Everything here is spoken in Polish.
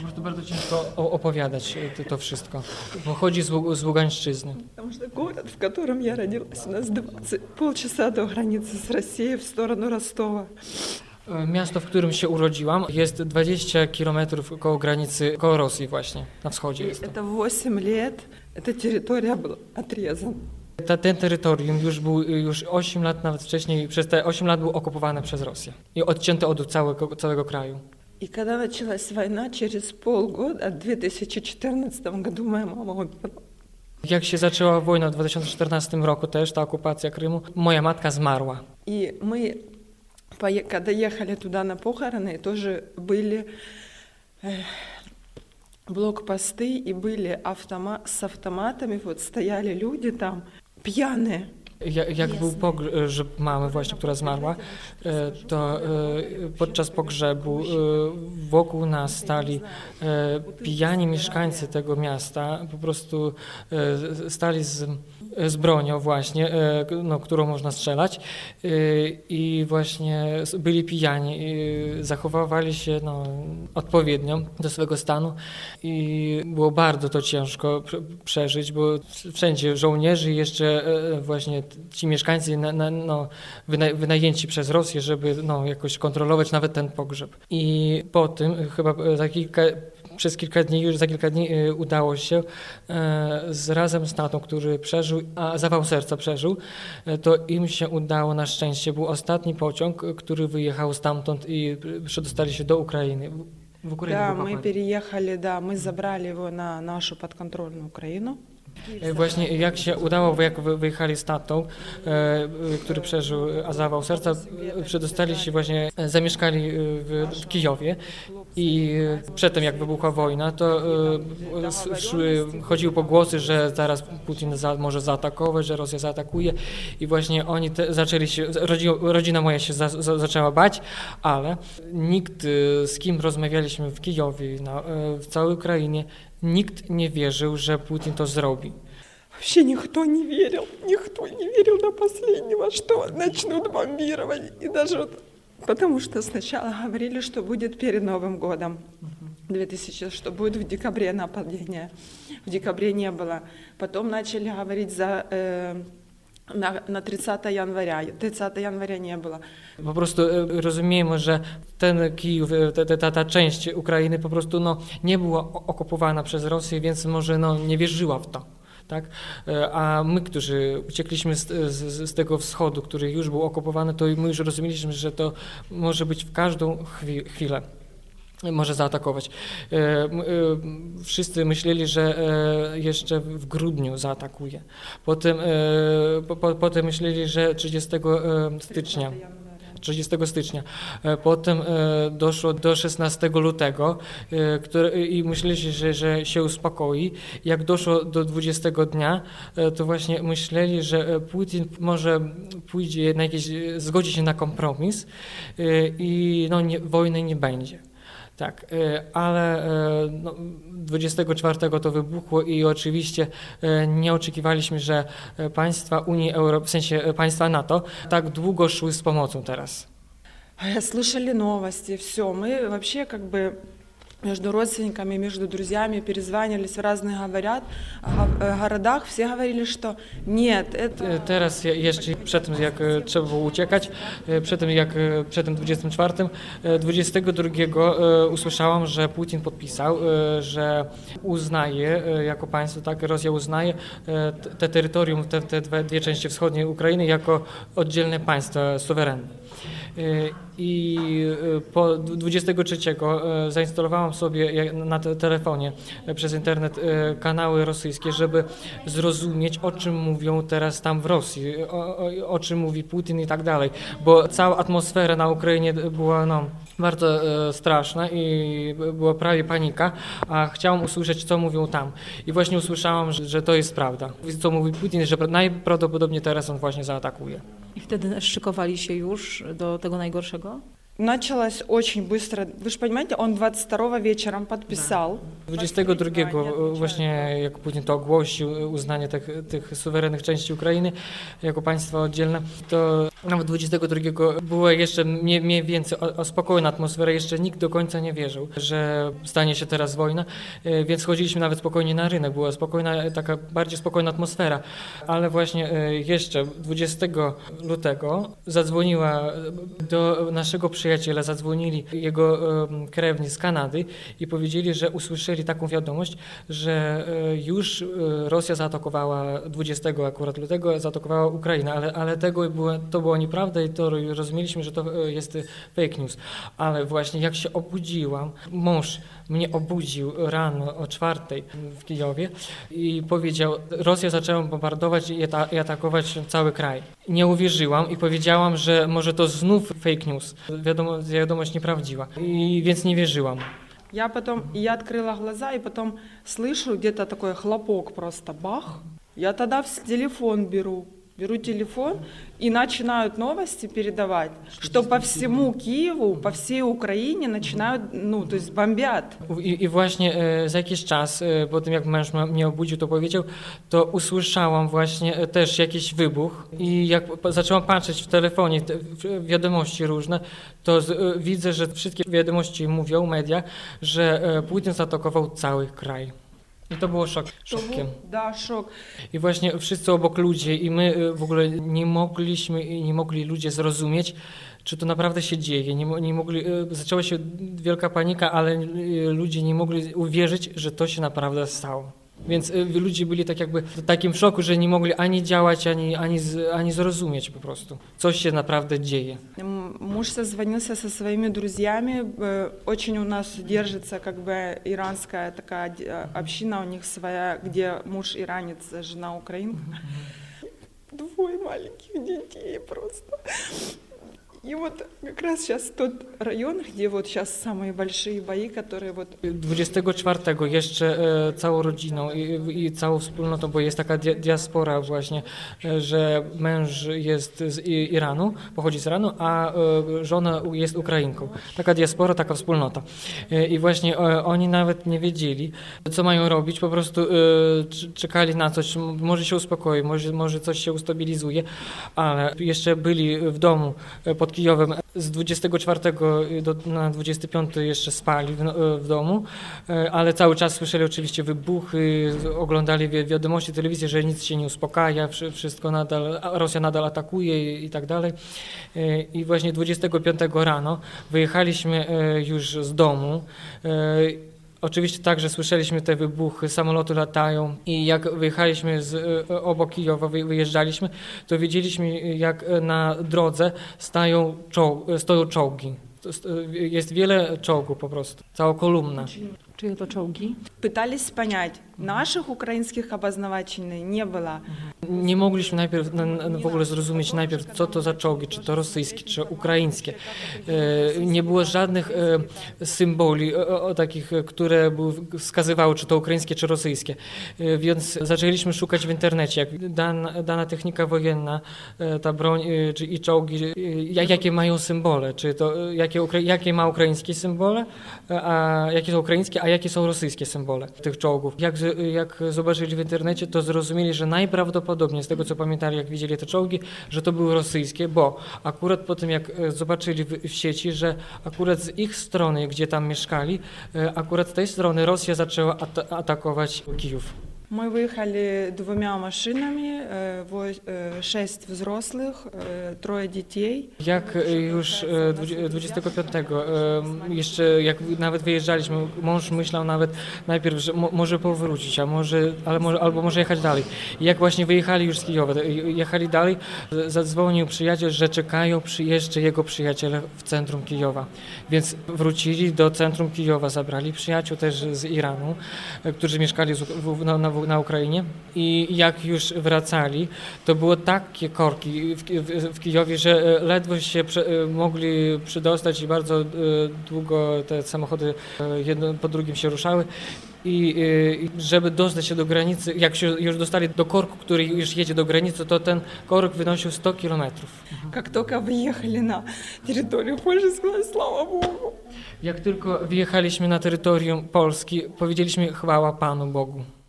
Po prostu bardzo ciężko opowiadać to wszystko. Pochodzi z Ługańszczyzny. Потому что город, в котором я родилась, у нас 20 полчаса до границы с Россией в сторону Ростова. Miasto, w którym się urodziłam, jest 20 kilometrów koło granicy, koło Rosji właśnie, na wschodzie jest to. Это 8 лет, эта территория была отрезана. Ten terytorium już 8 lat, nawet wcześniej, przez te 8 lat było okupowane przez Rosję i odcięte od całego kraju. И когда началась война, через полгода, в 2014 году моя мама умерла. Jak się zaczęła wojna w 2014 roku też, ta okupacja Krymu, moja matka zmarła. И мы, когда ехали туда на похороны, тоже были блокпосты и были с автоматами, вот стояли люди там, pijane. Jak był pogrzeb mamy właśnie, która zmarła, to podczas pogrzebu wokół nas stali pijani mieszkańcy tego miasta, po prostu stali z bronią właśnie, którą można strzelać i właśnie byli pijani i zachowywali się odpowiednio do swego stanu i było bardzo to ciężko przeżyć, bo wszędzie żołnierzy i jeszcze właśnie ci mieszkańcy wynajęci przez Rosję, żeby jakoś kontrolować nawet ten pogrzeb. I po tym chyba przez kilka dni udało się razem z tatą, który przeżył, a zawał serca przeżył, to im się udało na szczęście. Był ostatni pociąg, który wyjechał stamtąd i przedostali się do Ukrainy. W Ukrainie Да, мы переехали, мы забрали его на нашу подконтрольную Украину. Właśnie jak się udało, jak wyjechali z tatą, który przeżył zawał serca, przedostali się właśnie, zamieszkali w Kijowie i przedtem jak wybuchła wojna, to chodziły pogłosy, że zaraz Putin może zaatakować, że Rosja zaatakuje i właśnie oni zaczęli się, rodzina moja się zaczęła bać, ale nikt, z kim rozmawialiśmy w Kijowie, w całej Ukrainie, nikt nie wierzył, że Putin to zrobi. Вообще никто не верил до последнего, что начнут бомбировать. И даже потому что сначала говорили, что будет перед Новым годом, 2000, что будет в декабре нападение. В декабре не было. Потом начали говорить на 30 января. 30 января nie było. Po prostu rozumiemy, że ten Kijów, ta część Ukrainy po prostu nie była okupowana przez Rosję, więc może nie wierzyła w to. Tak? A my, którzy uciekliśmy z tego wschodu, który już był okupowany, to my już rozumieliśmy, że to może być w każdą chwilę. Może zaatakować. Wszyscy myśleli, że jeszcze w grudniu zaatakuje. Potem myśleli, że 30 stycznia. Potem doszło do 16 lutego i myśleli, że się uspokoi. Jak doszło do 20 dnia, to właśnie myśleli, że Putin może pójdzie zgodzi się na kompromis i wojny nie będzie. Tak, ale 24 to wybuchło i oczywiście nie oczekiwaliśmy, że państwa Unii Europejskiej, w sensie państwa NATO, tak długo szły z pomocą teraz. Слышали новости, все. Мы вообще между родственниками, между друзьями перезванивались в разных городах. Все говорили, что нет, это... Teraz jeszcze przed tym, jak trzeba było uciekać, przed tym 22 usłyszałam, że Putin podpisał, że uznaje jako państwo, tak, Rosja uznaje te terytorium, te dwie części wschodniej Ukrainy jako oddzielne państwa suwerenne. I po 23 zainstalowałam sobie na telefonie przez internet kanały rosyjskie, żeby zrozumieć, o czym mówią teraz tam w Rosji, o czym mówi Putin i tak dalej, bo cała atmosfera na Ukrainie była bardzo straszna i była prawie panika, a chciałam usłyszeć, co mówią tam. I właśnie usłyszałam, że to jest prawda. Co mówi Putin, że najprawdopodobniej teraz on właśnie zaatakuje. I wtedy szykowali się już do tego najgorszego? Началось очень быстро. Вы же понимаете, он 22-го вечером подписал. 22 właśnie, jak Putin to ogłosił, uznanie tych suwerennych części Ukrainy jako państwa oddzielne, to nawet 22 była jeszcze mniej więcej spokojna atmosfera, jeszcze nikt do końca nie wierzył, że stanie się teraz wojna, więc chodziliśmy nawet spokojnie na rynek, była spokojna, taka bardziej spokojna atmosfera, ale właśnie jeszcze 20 lutego zadzwoniła do naszego przyjaciela, zadzwonili jego krewni z Kanady i powiedzieli, że usłyszeli taką wiadomość, że już Rosja zaatakowała 20 akurat lutego, zaatakowała Ukrainę, ale to była nieprawda i to rozumieliśmy, że to jest fake news. Ale właśnie jak się obudziłam, mąż mnie obudził rano o 4 w Kijowie i powiedział, Rosja zaczęła bombardować i atakować cały kraj. Nie uwierzyłam i powiedziałam, że może to znów fake news, wiadomość nieprawdziwa, więc nie wierzyłam. Я открыла глаза, и потом слышу где-то такой хлопок, просто бах. Я тогда телефон беру телефон и начинают новости передавать, что по всему Киеву, по всей Украине начинают, то есть бомбят. I właśnie za jakiś czas, po tym jak męż mnie obudził, to powiedział, to usłyszałam właśnie też jakiś wybuch i jak zaczęłam patrzeć w telefonie, wiadomości różne, to widzę, że wszystkie wiadomości mówią, media, że Putin zaatakował cały kraj. I to było szokiem. Da, szok. I właśnie wszyscy obok ludzie i my w ogóle nie mogli ludzie zrozumieć, czy to naprawdę się dzieje. Nie mogli, zaczęła się wielka panika, ale ludzie nie mogli uwierzyć, że to się naprawdę stało. Więc ludzie byli tak jakby w takim szoku, że nie mogli ani działać, ani zrozumieć po prostu, co się naprawdę dzieje. Муж созвонился со своими друзьями. Очень у нас держится как бы иранская такая община у них своя, где муж иранец, жена украинка. Двое маленьких детей просто. И вот как раз сейчас тот район, где вот сейчас самые большие бои, которые вот... 24 jeszcze całą rodziną i całą wspólnotą, bo jest taka diaspora właśnie, że męż jest z Iranu, pochodzi z Iranu, a żona jest Ukrainką. Taka diaspora, taka wspólnota. I właśnie oni nawet nie wiedzieli, co mają robić, po prostu czekali na coś, może się uspokoi, może coś się ustabilizuje, ale jeszcze byli w domu pod Kijowem. Z 24 na 25 jeszcze spali w domu, ale cały czas słyszeli oczywiście wybuchy, oglądali wiadomości, telewizję, że nic się nie uspokaja, wszystko Rosja nadal atakuje i tak dalej. I właśnie 25 rano wyjechaliśmy już z domu. Oczywiście także słyszeliśmy te wybuchy, samoloty latają i jak wyjechaliśmy obok Kijowa, wyjeżdżaliśmy, to widzieliśmy jak na drodze stoją czołgi. Jest wiele czołgów po prostu, cała kolumna. Czyje to czołgi? Пытались понять, наших украинских обозначений не было. Nie mogliśmy najpierw w ogóle zrozumieć co to za czołgi, czy to rosyjskie, czy ukraińskie. Nie było żadnych symboli takich, które wskazywały, czy to ukraińskie, czy rosyjskie. Więc zaczęliśmy szukać w internecie, jak dana technika wojenna, ta broń i czołgi, jakie mają symbole, czy to jakie ma ukraińskie symbole, a jakie są ukraińskie, a jakie są rosyjskie symbole tych czołgów. Jak zobaczyli w internecie, to zrozumieli, że najprawdopodobniej, z tego co pamiętali, jak widzieli te czołgi, że to były rosyjskie, bo akurat po tym, jak zobaczyli w sieci, że akurat z ich strony, gdzie tam mieszkali, akurat z tej strony Rosja zaczęła atakować Kijów. Мы выехали 2 машинами, 6 взрослых, 3 детей. Jak już 25 jeszcze jak nawet wyjeżdżaliśmy, mąż myślał nawet najpierw, że może powrócić, albo może jechać dalej. I jak właśnie wyjechali już z Kijowa, jechali dalej, zadzwonił przyjaciel, że czekają jeszcze jego przyjaciele w centrum Kijowa. Więc wrócili do centrum Kijowa, zabrali przyjaciół też z Iranu, którzy mieszkali na Ukrainie i jak już wracali, to było takie korki w Kijowie, że ledwo się mogli przydostać i bardzo długo te samochody jedno po drugim się ruszały i żeby dostać się do granicy, jak się już dostali do korku, który już jedzie do granicy, to ten korek wynosił 100 kilometrów. Как только выехали на территорию Польши, сказали, слава Богу. Jak tylko wjechaliśmy na terytorium Polski, powiedzieliśmy chwała Panu Bogu.